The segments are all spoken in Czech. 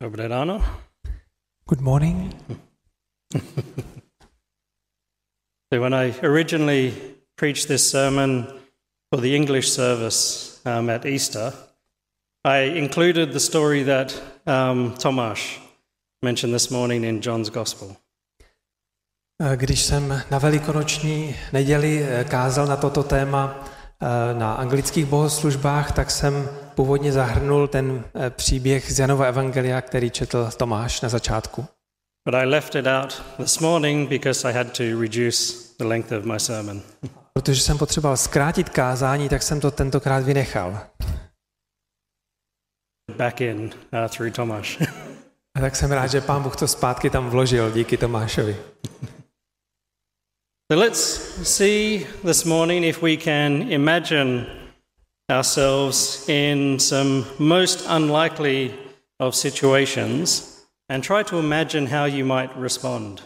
Dobré ráno. Good morning. So when I originally preached this sermon for the English service at Easter, I included the story that Tomáš mentioned this morning in John's Gospel. Když jsem na velikonoční neděli kázal na toto téma na anglických bohoslužbách, tak jsem původně zahrnul ten příběh z Janova evangelia, který četl Tomáš na začátku. But I left it out this morning because I had to reduce the length of my sermon. Protože jsem potřeboval zkrátit kázání, tak jsem to tentokrát vynechal. Back in through Tomáš. A tak jsem rád, že Pán Bůh to zpátky tam vložil díky Tomášovi. So let's see this morning if we can imagine ourselves in some most unlikely of situations and try to imagine how you might respond.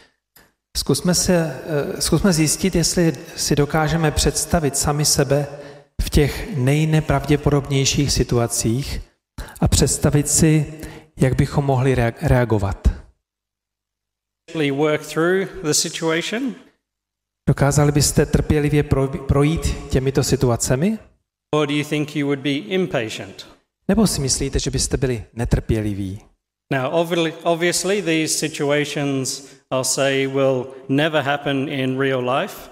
Zkusme zjistit, jestli si dokážeme představit sami sebe v těch nejnepravděpodobnějších situacích a představit si, jak bychom mohli reagovat. Work through the situation? Dokázali byste trpělivě projít těmito situacemi? Or do you think you would be impatient? Nebo si myslíte, že byste byli netrpěliví? Now, obviously, these situations, I'll say, will never happen in real life.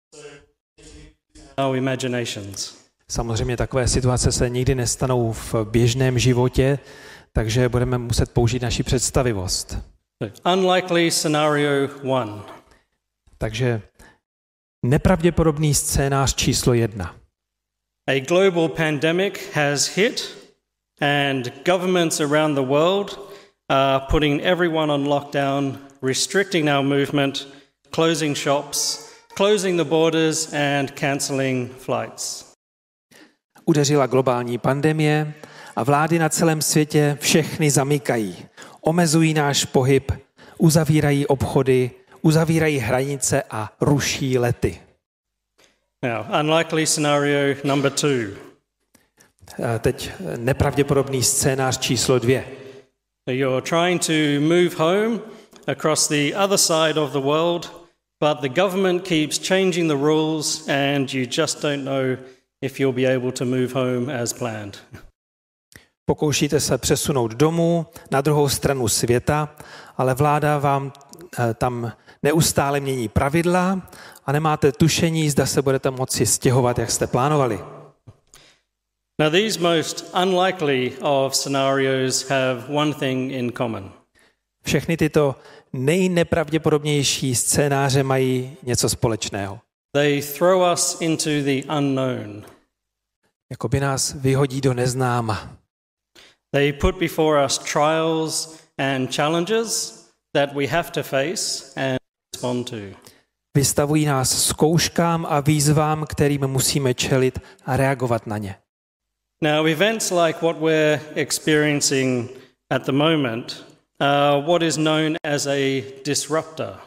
Our imaginations. Samozřejmě takové situace se nikdy nestanou v běžném životě, takže budeme muset použít naši představivost. Unlikely scenario 1. Takže nepravděpodobný scénář číslo 1. A global pandemic has hit and governments around the world are putting everyone on lockdown, restricting our movement, closing shops, closing the borders and cancelling flights. Udeřila globální pandemie a vlády na celém světě všechny zamykají. Omezují náš pohyb, uzavírají obchody, uzavírají hranice a ruší lety. Now, unlikely scenario number 2. Teď nepravděpodobný scénář číslo 2. You're trying to move home across the other side of the world, but the government keeps changing the rules and you just don't know if you'll be able to move home as planned. Pokoušíte se přesunout domů na druhou stranu světa, ale vláda vám tam neustále mění pravidla a nemáte tušení, zda se budete moci stěhovat, jak jste plánovali. Now these most unlikely of scenarios have one thing in common. Všechny tyto nejnepravděpodobnější scénáře mají něco společného. They throw us into the unknown. Jakoby nás vyhodí do neznáma. They put before us trials and challenges that we have to face and respond to. Vystavují nás zkouškám a výzvám, kterým musíme čelit a reagovat na ně. Now, events like what we're experiencing at the moment are what is known as a disruptor.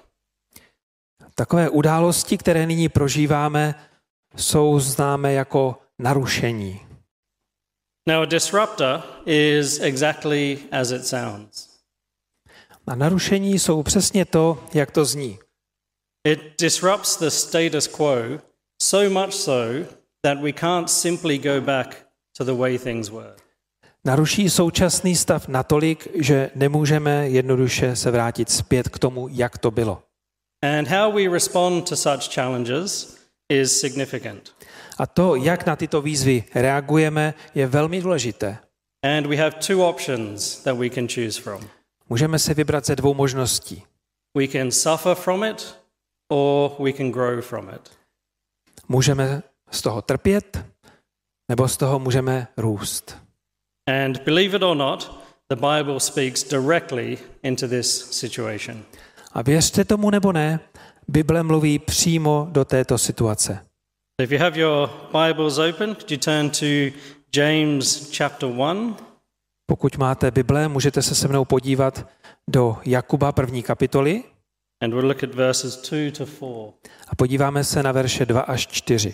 Takové události, které nyní prožíváme, jsou známé jako narušení. Now, a disruptor is exactly as it sounds. A narušení jsou přesně to, jak to zní. It disrupts the status quo so much so that we can't simply go back to the way things were. Naruší současný stav natolik, že nemůžeme jednoduše se vrátit zpět k tomu, jak to bylo. And how we respond to such challenges is significant. A to, jak na tyto výzvy reagujeme, je velmi důležité. And we have two options that we can choose from. Můžeme se vybrat ze dvou možností. We can suffer from it or we can grow from it. Můžeme z toho trpět, nebo z toho můžeme růst. And believe it or not, the Bible speaks directly into this situation. A věřte tomu nebo ne, Bible mluví přímo do této situace. If you have your Bibles open, could you turn to James chapter 1? Pokud máte Bible, můžete se mnou podívat do Jakuba 1. kapitoly. And we'll look at verses 2 to 4. A podíváme se na verše 2 až 4.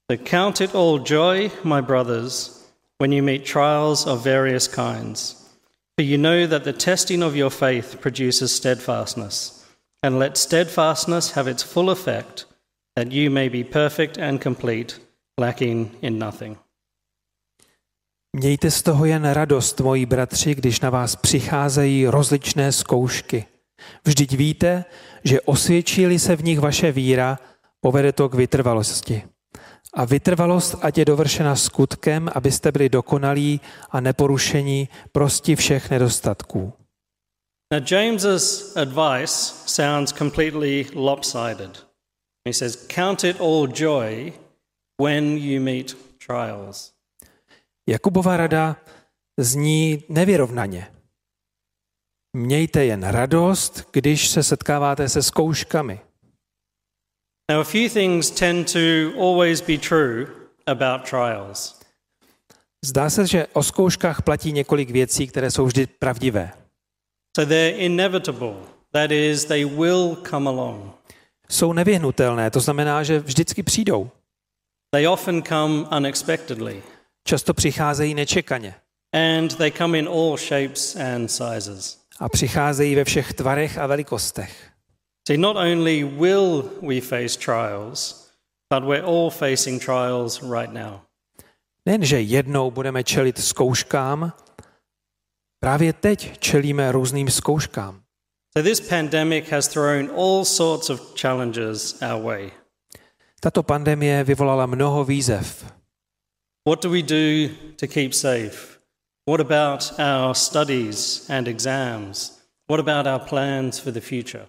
So count it all joy, my brothers, when you meet trials of various kinds. For you know that the testing of your faith produces steadfastness. And let steadfastness have its full effect, that you may be perfect and complete, lacking in nothing. Mějte z toho jen radost, moji bratři, když na vás přicházejí rozličné zkoušky. Vždyť víte, že osvědčí-li se v nich vaše víra, povede to k vytrvalosti. A vytrvalost ať je dovršena skutkem, abyste byli dokonalí a neporušení prosti všech nedostatků. Now James's advice sounds completely lopsided. He says, count it all joy when you meet trials. Jakubova rada zní nevyrovnaně. Mějte jen radost, když se setkáváte se zkouškami. Now, a few things tend to always be true about trials. Zdá se, že o zkouškách platí několik věcí, které jsou vždy pravdivé. So they're inevitable. That is, they will come along. Jsou nevyhnutelné, to znamená, že vždycky přijdou. They often come unexpectedly. Často přicházejí nečekaně. And they come in all shapes and sizes. A přicházejí ve všech tvarech a velikostech. See, not only will we face trials, but we're all facing trials right now. Nejenže jednou budeme čelit zkouškám, právě teď čelíme různým zkouškám. So this pandemic has thrown all sorts of challenges our way. Tato pandemie vyvolala mnoho výzev. What do we do to keep safe? What about our studies and exams? What about our plans for the future?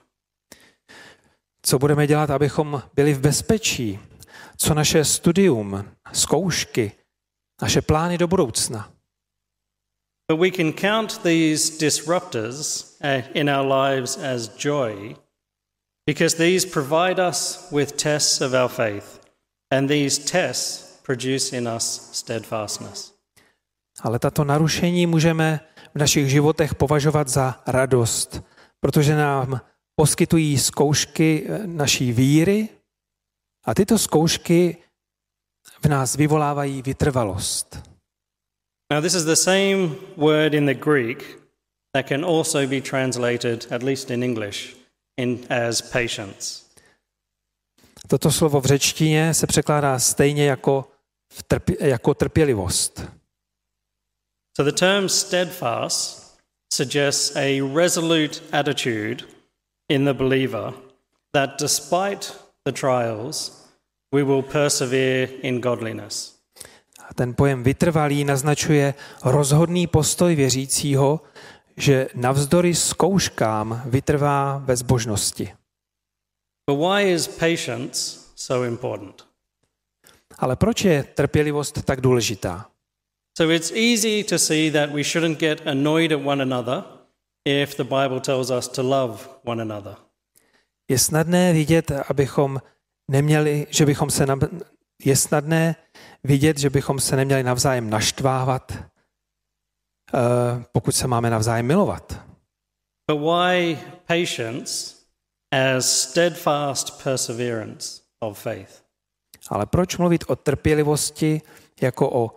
Co budeme dělat, abychom byli v bezpečí? Co naše studium, zkoušky, naše plány do budoucna? But we can count these disruptors in our lives as joy because these provide us with tests of our faith, and these tests produce in us steadfastness. Ale tato narušení můžeme v našich životech považovat za radost, protože nám poskytují zkoušky naší víry a tyto zkoušky v nás vyvolávají vytrvalost. Now this is the same word in the Greek that can also be translated, at least in English, as patience. Toto slovo v řečtině se překládá stejně jako trpělivost. So the term steadfast suggests a resolute attitude in the believer that despite the trials, we will persevere in godliness. A ten pojem vytrvalý naznačuje rozhodný postoj věřícího, že navzdory zkouškám vytrvá ve zbožnosti. But why is patience so important? Ale proč je trpělivost tak důležitá? So it's easy to see that we shouldn't get annoyed at one another if the Bible tells us to love one another. Je snadné vidět, že bychom se neměli navzájem naštvávat, pokud se máme navzájem milovat. But why patience as steadfast perseverance of faith? Ale proč mluvit o trpělivosti jako o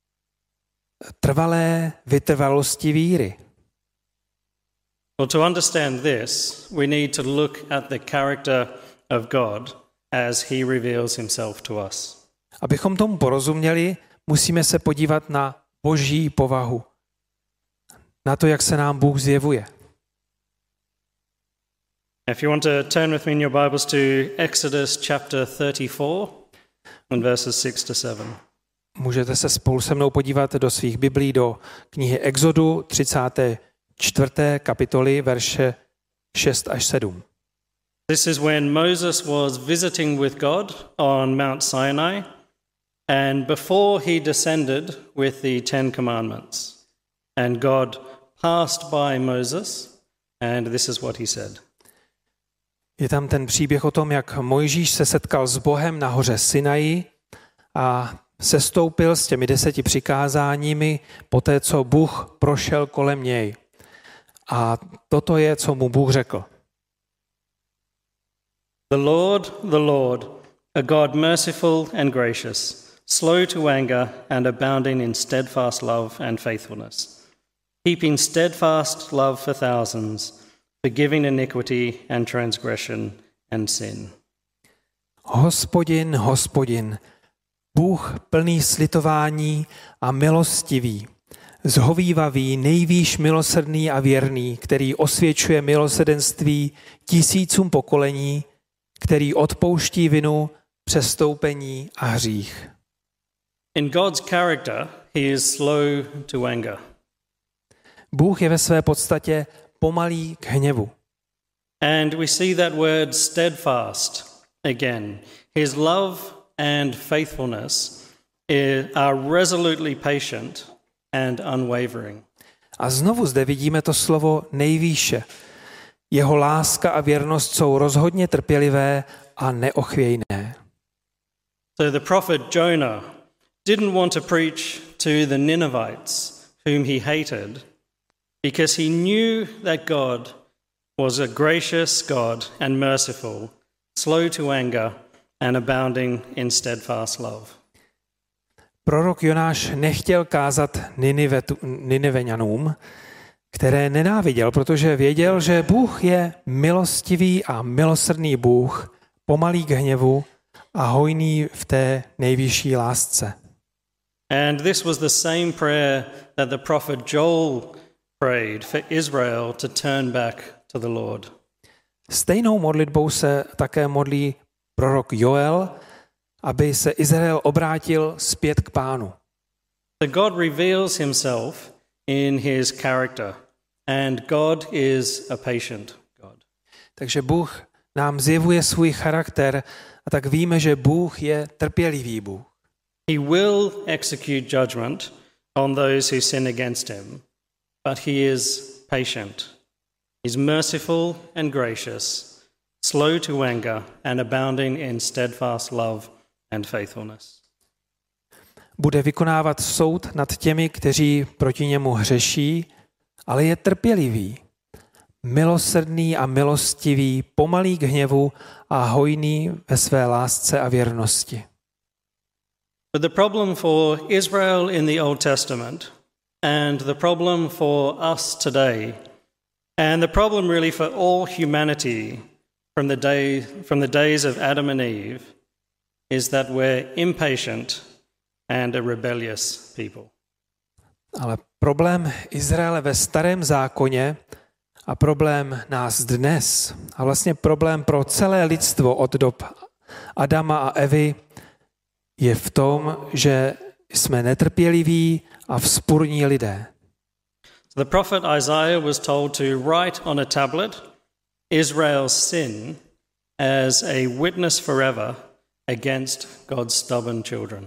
trvalé vytrvalosti víry? Well, to understand this, we need to look at the character of God as he reveals himself to us. Abychom tomu porozuměli, musíme se podívat na Boží povahu, na to, jak se nám Bůh zjevuje. If you want to turn with me in your Bibles to Exodus chapter 34 and verses 6 to 7. Můžete se spolu se mnou podívat do svých Biblí do knihy Exodu 34. kapitoly, verše 6 až 7. This is when Moses was visiting with God on Mount Sinai and before he descended with the 10 commandments. And God passed by Moses and this is what he said. Je tam ten příběh o tom, jak Mojžíš se setkal s Bohem na hoře Sinaji a sestoupil s těmi 10 přikázáními poté, co Bůh prošel kolem něj. A toto je, co mu Bůh řekl. The Lord, a God merciful and gracious, slow to anger and abounding in steadfast love and faithfulness, keeping steadfast love for thousands, forgiving iniquity and transgression and sin. Hospodin, Hospodin, Bůh plný slitování a milostivý, zhovívavý, nejvýš milosrdný a věrný, který osvědčuje milosrdenství tisícům pokolení, který odpouští vinu, přestoupení a hřích. In God's character, he is slow to anger. Bůh je ve své podstatě pomalý k hněvu. And we see that word steadfast again. His love and faithfulness are resolutely patient and unwavering. A znovu zde vidíme to slovo nejvýše. Jeho láska a věrnost jsou rozhodně trpělivé a neochvějné. So the prophet Jonah didn't want to preach to the Ninevites, whom he hated, because he knew that God was a gracious God and merciful, slow to anger and abounding in steadfast love. Prorok Jonáš nechtěl kázat Nineveňanům, které nenáviděl, protože věděl, že Bůh je milostivý a milosrdný Bůh, pomalý k hněvu a hojný v té nejvyšší lásce. And this was the same prayer that the prophet Joel prayed for Israel to turn back to the Lord. Stejnou modlitbou se také modlí prorok Joel, aby se Izrael obrátil zpět k Pánu. So God reveals himself in his character, and God is a patient God. Takže Bůh nám zjevuje svůj charakter a tak víme, že Bůh je trpělivý Bůh. He will execute judgment on those who sin against him, but he is patient. He's merciful and gracious, slow to anger and abounding in steadfast love and faithfulness. Bude vykonávat soud nad těmi, kteří proti němu hřeší, ale je trpělivý, milosrdný a milostivý, pomalý k hněvu a hojný ve své lásce a věrnosti. But the problem for Israel in the Old Testament and the problem for us today and the problem really for all humanity from the days of Adam and Eve is that we're impatient and a rebellious people. Ale problém Izraele ve Starém zákoně a problém nás dnes a vlastně problém pro celé lidstvo od dob Adama a Evy je v tom, že jsme netrpěliví a vzpurní lidé. The prophet Isaiah was told to write on a tablet Israel's sin as a witness forever against God's stubborn children.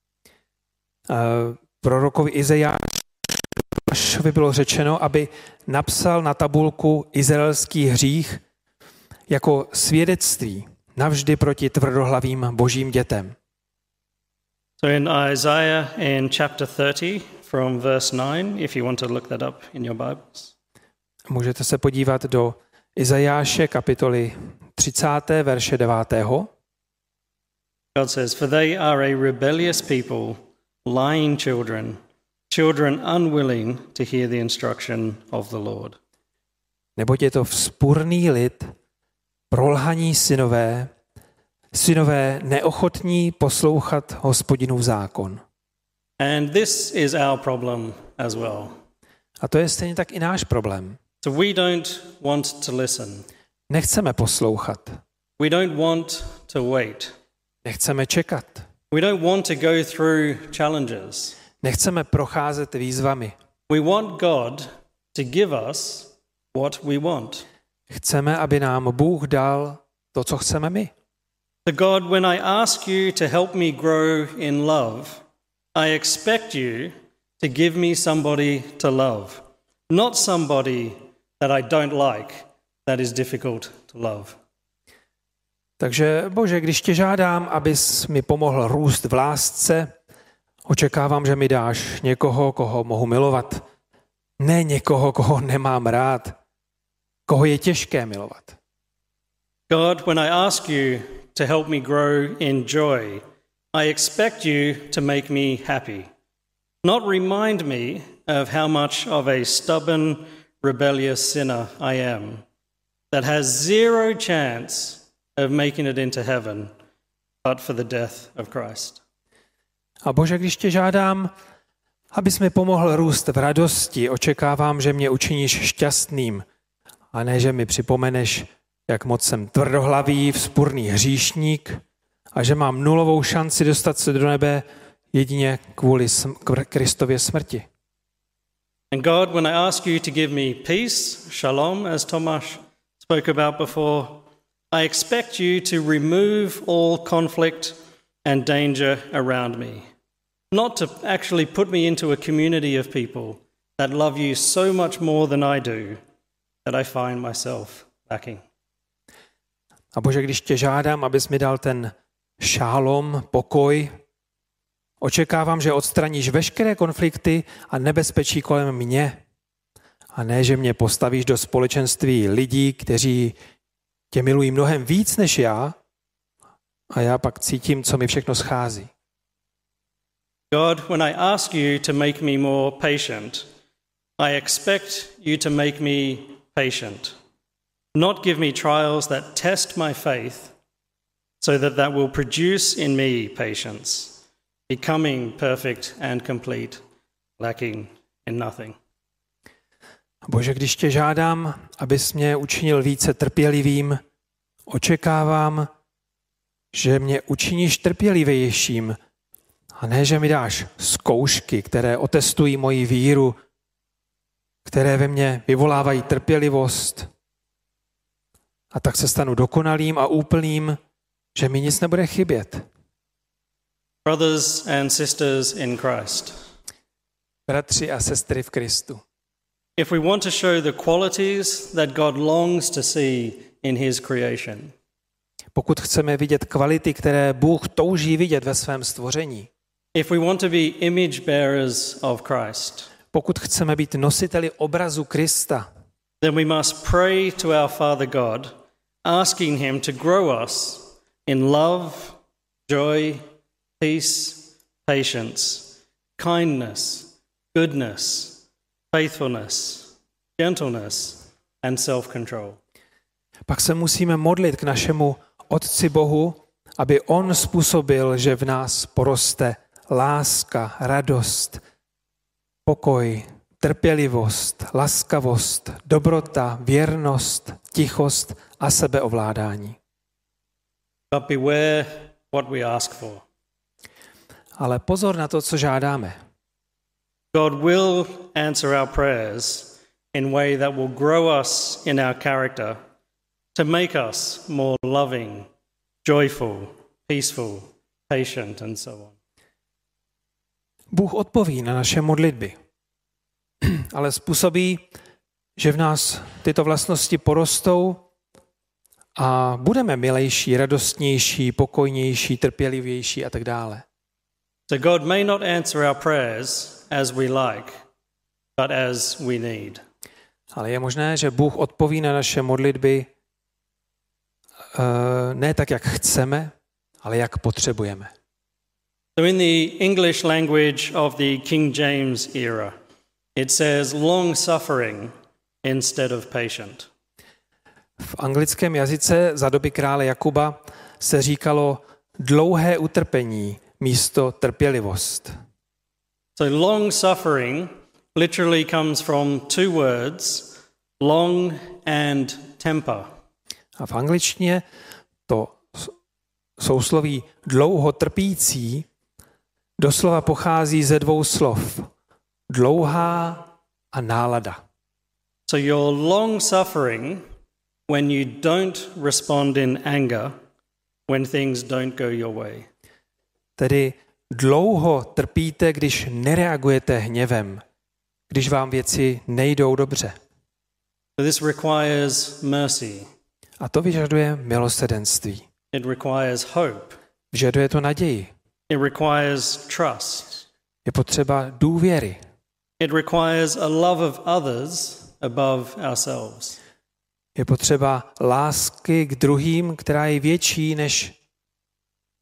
Prorokovi Izajášovi bylo řečeno, aby napsal na tabulku izraelský hřích jako svědectví navždy proti tvrdohlavým božím dětem. So in Isaiah in chapter 30 from verse 9, if you want to look that up in your Bibles. Můžete se podívat do Izajáše kapitoly 30. verše 9. God says, "For they are a rebellious people, lying children, children unwilling to hear the instruction of the Lord." Neboť je to vzpurný lid, prolhaní synové, synové neochotní poslouchat Hospodinův zákon. And this is our problem as well. A to je stejně tak i náš problém. So we don't want to listen. Nechceme poslouchat. We don't want to wait. Nechceme čekat. We don't want to go through challenges. Nechceme procházet výzvami. We want God to give us what we want. Chceme, aby nám Bůh dal to, co chceme my. So God, when I ask you to help me grow in love, I expect you to give me somebody to love, not somebody that I don't like, that is difficult to love. Takže Bože, když tě žádám, abys mi pomohl růst v lásce, očekávám, že mi dáš někoho, koho mohu milovat. Ne někoho, koho nemám rád, koho je těžké milovat. God, when I ask you to help me grow in joy. I expect you to make me happy. Not remind me of how much of a stubborn, rebellious sinner I am that has zero chance of making it into heaven, but for the death of Christ. A Bože, když tě žádám, abys mi pomohl růst v radosti, očekávám, že mě učiníš šťastným, a ne, že mi připomeneš, jak moc jsem tvrdohlavý, vzpurný hříšník a že mám nulovou šanci dostat se do nebe jedině kvůli Kristově smrti. And God, when I ask you to give me peace, shalom, as Tomáš spoke about before, I expect you to remove all conflict and danger around me. Not to actually put me into a community of people that love you so much more than I do, that I find myself lacking. A Bože, když tě žádám, abys mi dal ten šálom, pokoj, očekávám, že odstraníš veškeré konflikty a nebezpečí kolem mě. A ne, že mě postavíš do společenství lidí, kteří tě milují mnohem víc než já, a já pak cítím, co mi všechno schází. God, when I ask you to make me more patient, I expect you to make me patient. Not give me trials that test my faith, so that will produce in me patience, becoming perfect and complete, lacking in nothing. Bože, když tě žádám, abys mě učinil více trpělivým, očekávám, že mě učiníš trpělivějším, a ne, že mi dáš zkoušky, které otestují moji víru, které ve mně vyvolávají trpělivost, a tak se stanu dokonalým a úplným, že mi nic nebude chybět. Brothers and sisters in Christ. Bratři a sestry v Kristu. If we want to show the qualities that God longs to see in his creation, pokud chceme vidět kvality, které Bůh touží vidět ve svém stvoření, if we want to be image bearers of Christ, pokud chceme být nositeli obrazu Krista, then we must pray to our Father God, asking him to grow us in love, joy, peace, patience, kindness, goodness, faithfulness, gentleness, and self-control. Pak se musíme modlit k našemu Otci Bohu, aby on způsobil, že v nás poroste láska, radost, pokoj, trpělivost, laskavost, dobrota, věrnost, tichost a sebeovládání. But beware what we ask for. Ale pozor na to, co žádáme. God will answer our prayers in a way that will grow us in our character to make us more loving, joyful, peaceful, patient, and so on. Bůh odpoví na naše modlitby, ale způsobí, že v nás tyto vlastnosti porostou a budeme milejší, radostnější, pokojnější, trpělivější a tak dále. So God may not answer our prayers as we like, but as we need. Ale je možné, že Bůh odpoví na naše modlitby ne tak, jak chceme, ale jak potřebujeme. So in the English language of the King James era, it says long suffering instead of patient. V anglickém jazyce za doby krále Jakuba se říkalo dlouhé utrpení místo trpělivost. So long suffering literally comes from two words, long and temper. A v angličtině to sousloví dlouho trpící doslova pochází ze dvou slov. Dlouhá a nálada. So you're long suffering when you don't respond in anger when things don't go your way. Tedy dlouho trpíte, když nereagujete hněvem, když vám věci nejdou dobře. So this requires mercy. A to vyžaduje milosrdenství. It requires hope. Vyžaduje to naději. It requires trust. Je potřeba důvěry. It requires a love of others above ourselves. Je potřeba lásky k druhým, která je větší než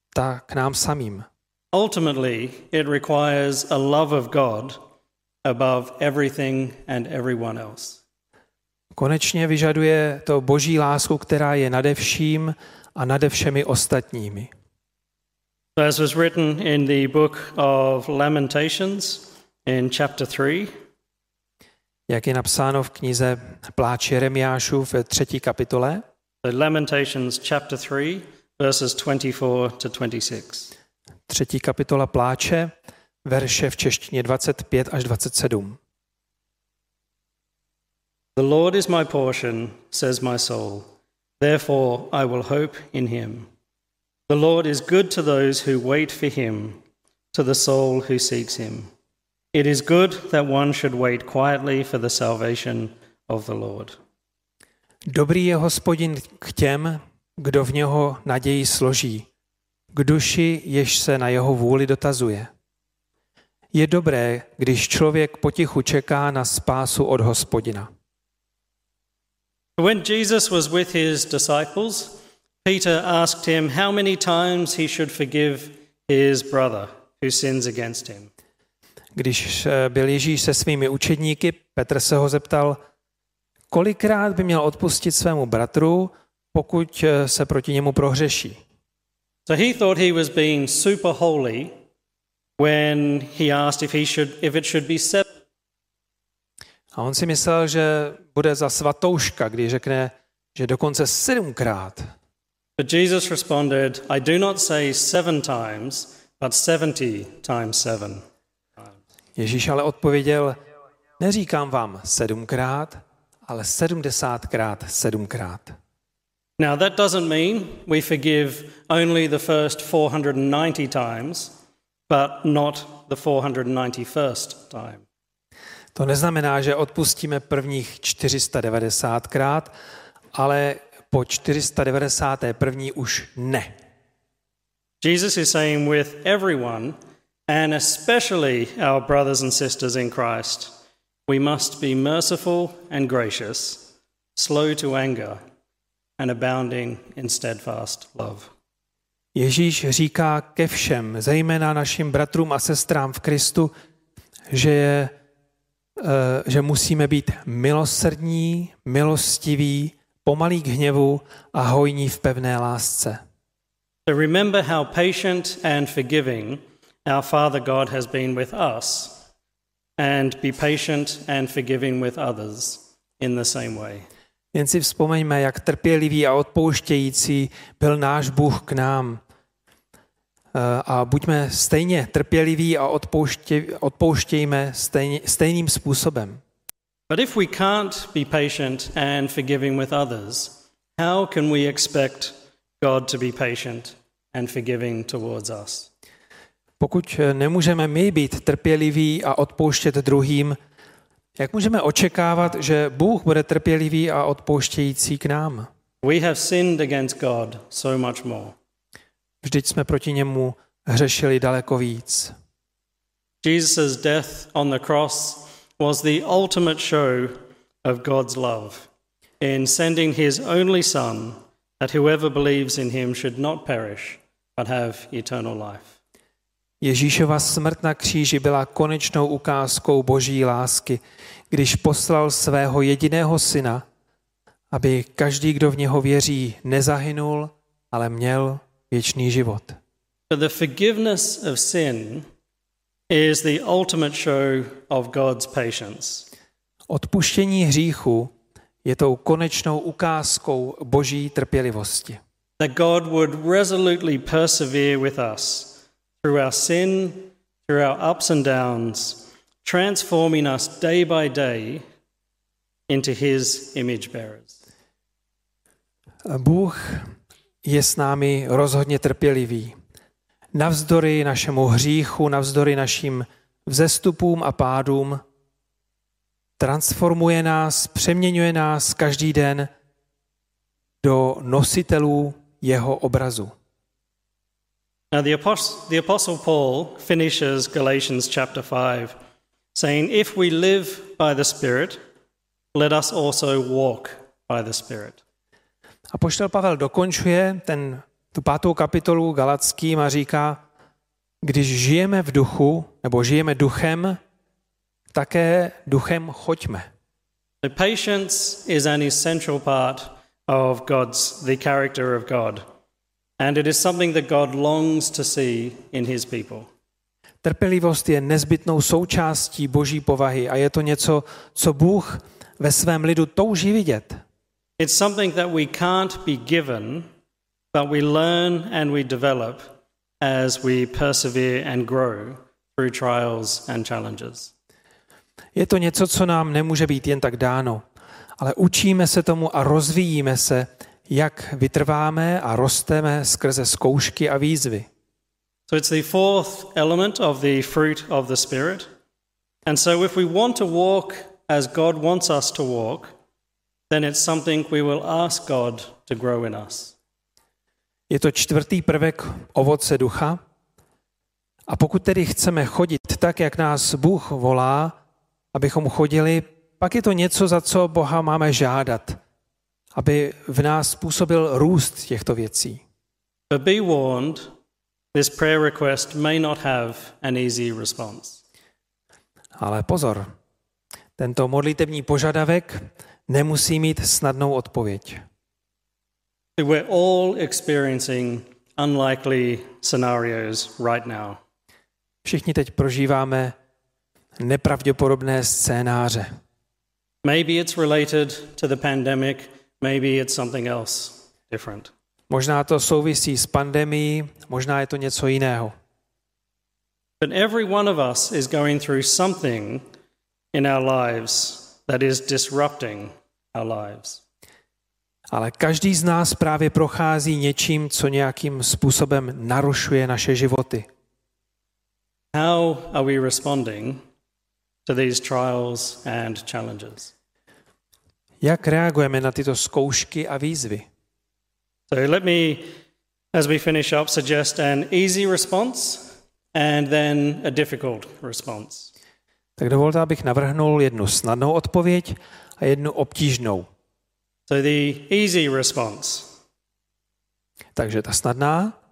tak k nám samým. Ultimately, it requires a love of God above everything and everyone else. Konečně vyžaduje to boží lásku, která je nade vším a nade všemi ostatními. As was written in the book of Lamentations in chapter 3, jak je napsáno v knize Pláč Jeremiášův ve 3. kapitole. Lamentations chapter 3, verses 24 to 26. 3. kapitola Pláče, verše v češtině 25 až 27. The Lord is my portion, says my soul. Therefore I will hope in him. The Lord is good to those who wait for him, to the soul who seeks him. It is good that one should wait quietly for the salvation of the Lord. Dobrý je Hospodin k těm, kdo v něho naději složí, k duši, jež se na jeho vůli dotazuje. Je dobré, když člověk potichu čeká na spásu od Hospodina. When Jesus was with his disciples, Peter asked him how many times he should forgive his brother who sins against him. Když byl Ježíš se svými učedníky, Petr se ho zeptal, kolikrát by měl odpustit svému bratru, pokud se proti němu prohřeší. So he thought he was being super holy when he asked if it should be 7. A on si myslel, že bude za svatouška, když řekne, že dokonce 7krát. But Jesus responded, I do not say 7 times, but 70 times 7. Ježíš ale odpověděl, neříkám vám 7krát, ale 70krát 7krát. Now that doesn't mean we forgive only the first 490 times, but not the 491st time. To neznamená, že odpustíme prvních 490krát, ale po 491. už ne. Jesus is saying with everyone, and especially our brothers and sisters in Christ, we must be merciful and gracious, slow to anger, and abounding in steadfast love. Ježíš říká ke všem, zejména našim bratrům a sestrám v Kristu, že musíme být milosrdní, milostiví, pomalí k hněvu a hojní v pevné lásce. So remember how patient and forgiving our Father God has been with us, and be patient and forgiving with others in the same way. Jen si vzpomeňme, jak trpělivý a odpouštějící byl náš Bůh k nám. A buďme stejně trpěliví a odpouštějme stejným způsobem. But if we can't be patient and forgiving with others, how can we expect God to be patient and forgiving towards us? Pokud nemůžeme my být trpěliví a odpouštět druhým, jak můžeme očekávat, že Bůh bude trpělivý a odpouštějící k nám? We have sinned against God so much more. Vždyť jsme proti němu hřešili daleko víc. Jesus' death on the cross was the ultimate show of God's love in sending his only Son, that whoever believes in him should not perish, but have eternal life. Ježíšova smrt na kříži byla konečnou ukázkou Boží lásky, když poslal svého jediného syna, aby každý, kdo v něho věří, nezahynul, ale měl věčný život. But the forgiveness of sin is the ultimate show of God's patience. Odpuštění hříchu je tou konečnou ukázkou Boží trpělivosti. That God would resolutely persevere with us through our sin, through our ups and downs, transforming us day by day into his image bearers. Bůh je s námi rozhodně trpělivý. Navzdory našemu hříchu, navzdory našim vzestupům a pádům, transformuje nás, přeměňuje nás každý den do nositelů jeho obrazu. Now the Apostle Paul finishes Galatians chapter 5 saying, if we live by the Spirit, let us also walk by the Spirit. Apoštol Pavel dokončuje ten tu 5. kapitolu Galatským a říká, když žijeme v duchu, nebo žijeme duchem, také duchem choďme. The patience is an essential part of the character of God. And it is something that God longs to see in his people. Trpělivost je nezbytnou součástí Boží povahy a je to něco, co Bůh ve svém lidu touží vidět. It's something that we can't be given, but we learn and we develop as we persevere and grow through trials and challenges. Je to něco, co nám nemůže být jen tak dáno, ale učíme se tomu a rozvíjíme se, jak vytrváme a rosteme skrze zkoušky a výzvy. So it's the fourth element of the fruit of the Spirit. And so if we want to walk as God wants us to walk, then it's something we will ask God to grow in us. Je to 4. prvek ovoce ducha. A pokud tedy chceme chodit tak, jak nás Bůh volá, abychom chodili, pak je to něco, za co Boha máme žádat, aby v nás způsobil růst těchto věcí. But be warned, this prayer request may not have an easy response. Ale pozor, tento modlitevní požadavek nemusí mít snadnou odpověď. We're all experiencing unlikely scenarios right now. Všichni teď prožíváme nepravděpodobné scénáře. Maybe it's related to the pandemic, maybe it's something else different. Možná to souvisí s pandemií, možná je to něco jiného. But every one of us is going through something in our lives that is disrupting our lives. Ale každý z nás právě prochází něčím, co nějakým způsobem narušuje naše životy. How are we responding to these trials and challenges? Jak reagujeme na tyto zkoušky a výzvy? So let me, as we finish up, suggest an easy response and then a difficult response. Tak dovolte, abych navrhnul jednu snadnou odpověď a jednu obtížnou. So the easy response. Takže ta snadná.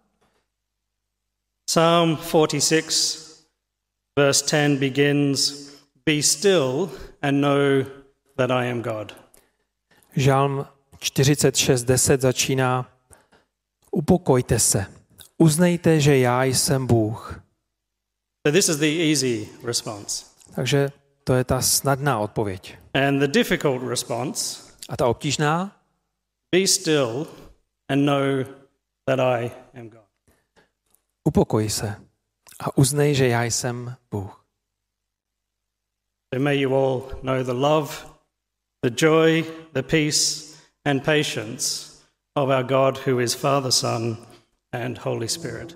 Psalm 46, verse 10 begins, "Be still and know that I am God." Žalm 46:10 začíná: Upokojte se, uznejte, že já jsem Bůh. So this is the easy response. Takže to je ta snadná odpověď. And the difficult response, A ta obtížná? be still and know that I am God. Upokoj se a uznej, že já jsem Bůh. So may you all know the love, the joy, the peace and patience of our God who is Father, Son and Holy Spirit.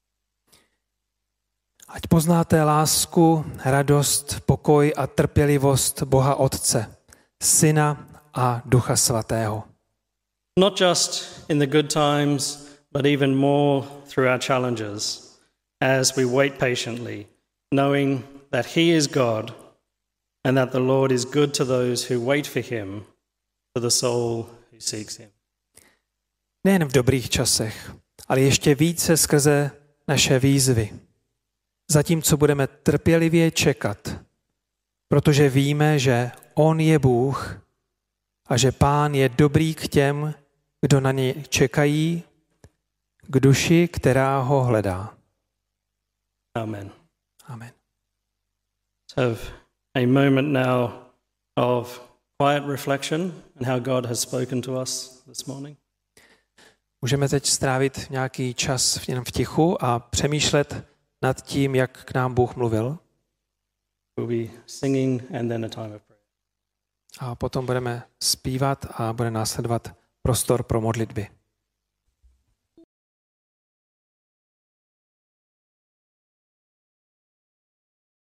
Ať poznáte lásku, radost, pokoj a trpělivost Boha Otce, Syna a Ducha Svatého. Not just in the good times, but even more through our challenges as we wait patiently, knowing that He is God and that the Lord is good to those who wait for Him, for the soul who seeks Him. Nejen v dobrých časech, ale ještě více skrze naše výzvy. Zatímco budeme trpělivě čekat, protože víme, že On je Bůh a že Pán je dobrý k těm, kdo na něj čekají, k duši, která ho hledá. Amen. Amen. Let's have a moment now of quiet reflection and how God has spoken to us this morning. Můžeme teď strávit nějaký čas jenom v tichu a přemýšlet nad tím, jak k nám Bůh mluvil. We'll be singing and then a time of prayer. A potom budeme zpívat a bude následovat prostor pro modlitby.